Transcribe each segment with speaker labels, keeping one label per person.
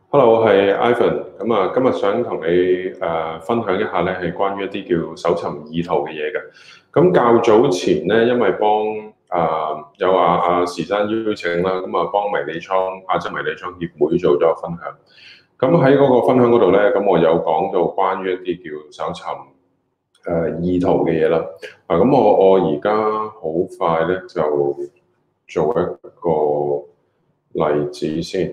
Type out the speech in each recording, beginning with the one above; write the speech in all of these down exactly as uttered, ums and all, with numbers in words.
Speaker 1: Hello，我係 Ivan。咁啊，今日想同你誒、呃分享一下咧，係關於一啲叫搜尋意圖嘅嘢嘅。咁較早前咧，因為幫啊、呃有阿阿時生邀請啦，咁啊幫迷你倉亞洲迷你倉協會做咗分享。咁喺嗰個分享嗰度咧，咁我有講到關於一啲叫搜尋誒、呃意圖嘅嘢啦。啊，咁我我而家好快咧就做一個例子先。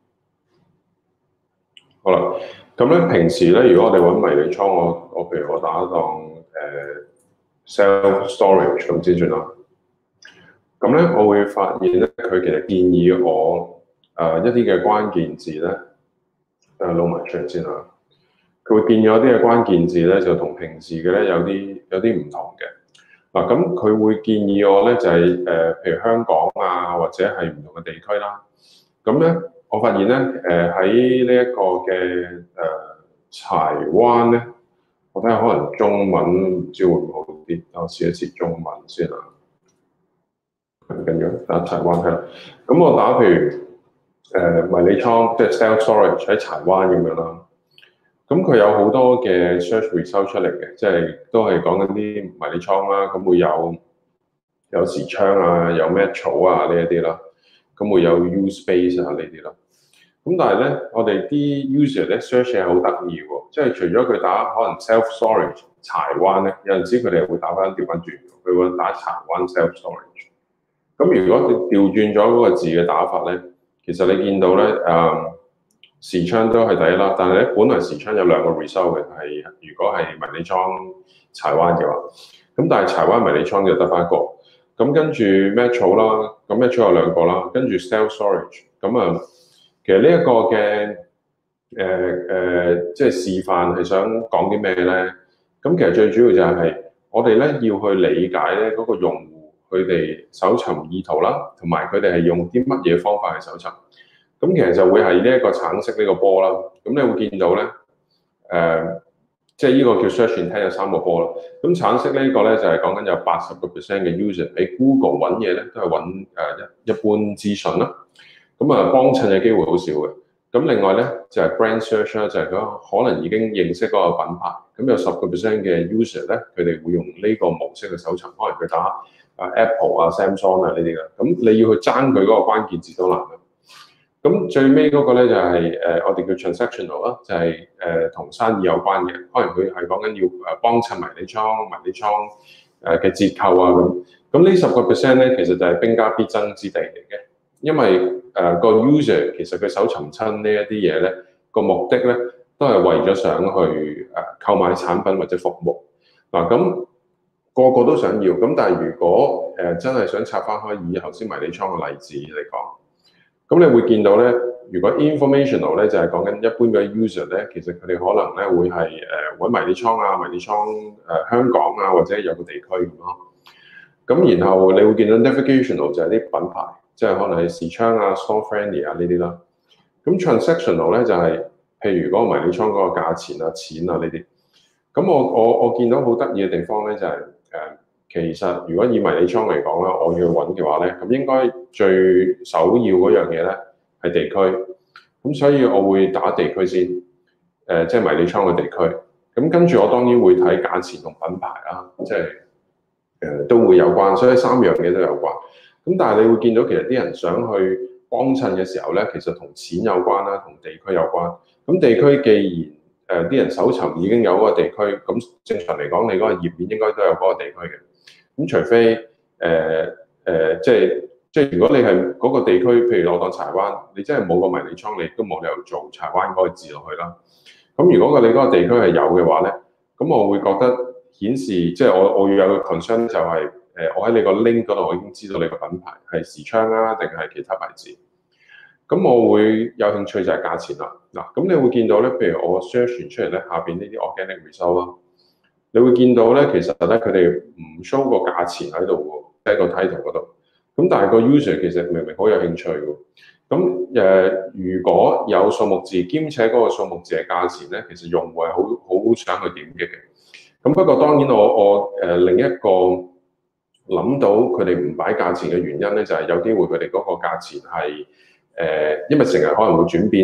Speaker 1: 好啦，咁咧平時咧，如果我哋揾迷你倉，我我譬如我打檔誒 self storage 咁先算啦。咁咧，我會發現咧，佢其實建議我誒、呃、一啲嘅關鍵字咧，誒撈埋出嚟先啦。佢會建議我啲嘅關鍵字咧，就同平時嘅咧有啲有啲唔同嘅。嗱，咁佢會建議我咧就係、是、誒、呃，譬如香港啊，或者係唔同嘅地區啦。咁咧，我發現咧，誒喺呢一個嘅誒、呃、柴灣咧，我睇下可能中文唔知會唔會好啲，等我試一試中文先啊。唔緊要，打柴灣係啦。咁我打譬如誒、呃、迷你倉，即係 self storage 喺柴灣咁樣啦。咁佢有好多嘅 search result 出嚟嘅，即係都係講緊啲迷你倉啦。咁會有有時昌啊，有咩草啊呢一啲啦。咁會有 U space 啊呢啲啦。咁但係咧，我哋啲 user 咧 search 係好得意喎，即係除咗佢打可能 self storage 柴灣咧，有陣時佢哋會打翻調翻轉，佢會打柴灣 self storage。咁如果你調轉咗嗰個字嘅打法咧，其實你見到咧誒、嗯、時昌都係第一啦，但係咧本來時昌有兩個 result 嘅，係如果係迷你倉柴灣嘅話，咁但係柴灣迷你倉就得翻一個。咁跟住 Metro 啦，咁 Metro 有兩個啦，跟住 self storage，咁啊，其實呢一個嘅誒誒，即係示範係想講啲咩咧？咁其實最主要就係我哋咧要去理解咧嗰個用戶佢哋搜尋意圖啦，同埋佢哋係用啲乜嘢方法去搜尋。咁其實就會係呢一個橙色呢個波啦。咁你會見到咧誒。呃即係呢個叫 search intent 有三個波啦。咁橙色呢個咧就係講緊有八十個 percent 嘅 user 喺 Google 揾嘢咧，都係揾誒一一般資訊啦。咁啊幫襯嘅機會好少嘅。咁另外咧就係、是、brand search 啦，就係佢可能已經認識嗰個品牌。咁有十個 percent 嘅 user 咧，佢哋會用呢個模式去搜尋，可能佢打啊 Apple 啊 Samsung 啊呢啲嘅。咁你要去爭佢嗰個關鍵字都難嘅。咁最尾嗰個咧就係、是、誒、呃、我哋叫 transactional 啦，就係誒同生意有關嘅，可能佢係講緊要誒幫襯迷你倉、迷你倉誒嘅折扣啊咁。咁呢十個 percent 咧，其實就係兵家必爭之地嚟嘅，因為誒、呃、個 user 其實佢搜尋親呢一啲嘢咧，個目的咧都係為咗想去誒購買產品或者服務嗱。咁、那個個都想要，咁但係如果誒、呃、真係想拆翻開以頭先迷你倉嘅例子嚟講。咁你會見到咧，如果 informational 咧就係講緊一般嘅 user 咧，其實佢哋可能咧會係誒揾迷你倉啊、迷你倉誒、呃、香港啊或者有個地區咁咯。咁然後你會見到 navigational 就係啲品牌，即係可能係時昌啊、store friendly 啊呢啲啦。咁 transactional 咧就係、是、譬如嗰個迷你倉嗰個價錢啊、錢啊呢啲。咁我我我見到好得意嘅地方咧就係、是、誒。呃其實如果以迷你倉嚟講咧，我要揾嘅話咧，咁應該最首要嗰樣嘢咧係地區，咁所以我會打地區先，誒、呃、即係迷你倉嘅地區，咁跟住我當然會睇價錢同品牌啦，即係誒、呃、都會有關，所以三樣嘢都有關。咁但係你會見到其實啲人想去幫襯嘅時候咧，其實同錢有關啦，同地區有關。咁地區既然誒啲、呃、人搜尋已經有嗰個地區，咁正常嚟講，你嗰個頁面應該都有嗰個地區嘅。咁除非誒誒、呃呃，即係即係，如果你係嗰個地區，譬如我當柴灣，你真係冇個迷你倉，你都冇理由做柴灣嗰個字落去啦。咁如果個你嗰個地區係有嘅話咧，咁我會覺得顯示，即係我我要有個 concern 就係、是、誒、呃，我喺你個 link 嗰度，我已經知道你個品牌係時昌啊，定係其他牌子。咁我會有興趣就係價錢啦。嗱，咁你會見到咧，譬如我 search 出嚟咧，下邊呢啲 organic result 啦。你會見到咧，其實咧佢哋唔 show 個價錢喺度喎，喺個 title 嗰度。咁但係個 user 其實明明好有興趣喎。咁誒、呃，如果有數目字兼且嗰個數目字嘅價錢咧，其實用戶係好好想去點擊嘅。咁不過當然我我誒、呃、另一個諗到佢哋唔擺價錢嘅原因咧，就係、是、有機會佢哋嗰個價錢係誒、呃，因為成日可能會轉變啦。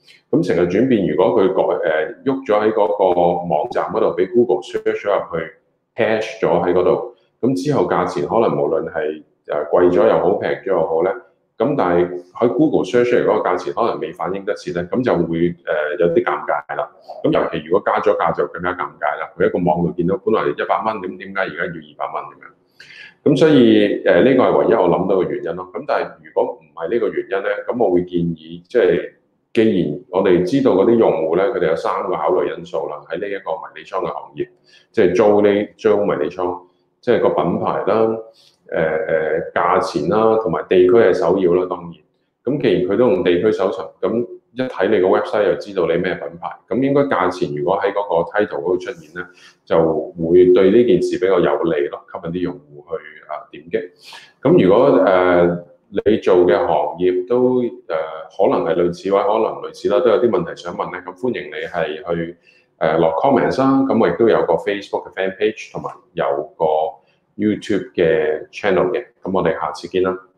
Speaker 1: 咁成日轉變，如果佢改誒喐咗喺嗰個網站嗰度，俾 Google search 咗入去 hash 咗喺嗰度，咁之後價錢可能無論係誒貴咗又好，平咗又好咧，咁但係喺 Google search 出嚟嗰個價錢可能未反映得切咧，咁就會誒有啲尷尬啦。咁尤其如果加咗價就更加尷尬啦。佢一個網度見到本來一百蚊，咁點解而家要二百蚊咁樣？咁所以誒呢個係唯一我諗到嘅原因咯。咁但係如果唔係呢個原因咧，咁我會建議即係，既然我哋知道嗰啲用戶咧，佢哋有三個考慮因素啦，喺呢一個迷你倉嘅行業，即係租呢租迷你倉，即係個品牌啦、誒、呃、誒價錢啦，同埋地區係首要啦。當然，咁既然佢都用地區搜尋，咁一睇你個 website 就知道你咩品牌，咁應該價錢如果喺嗰個 title 嗰度出現咧，就會對呢件事比較有利咯，吸引啲用戶去啊點擊。咁如果誒、呃你做嘅行業都誒、呃、可能係類似或者可能類似啦，都有啲問題想問咧，咁歡迎你係去誒落 comments 啦。咁我亦都有個 Facebook 嘅 fan page 同埋有個 YouTube 嘅 channel 嘅。咁我哋下次見啦。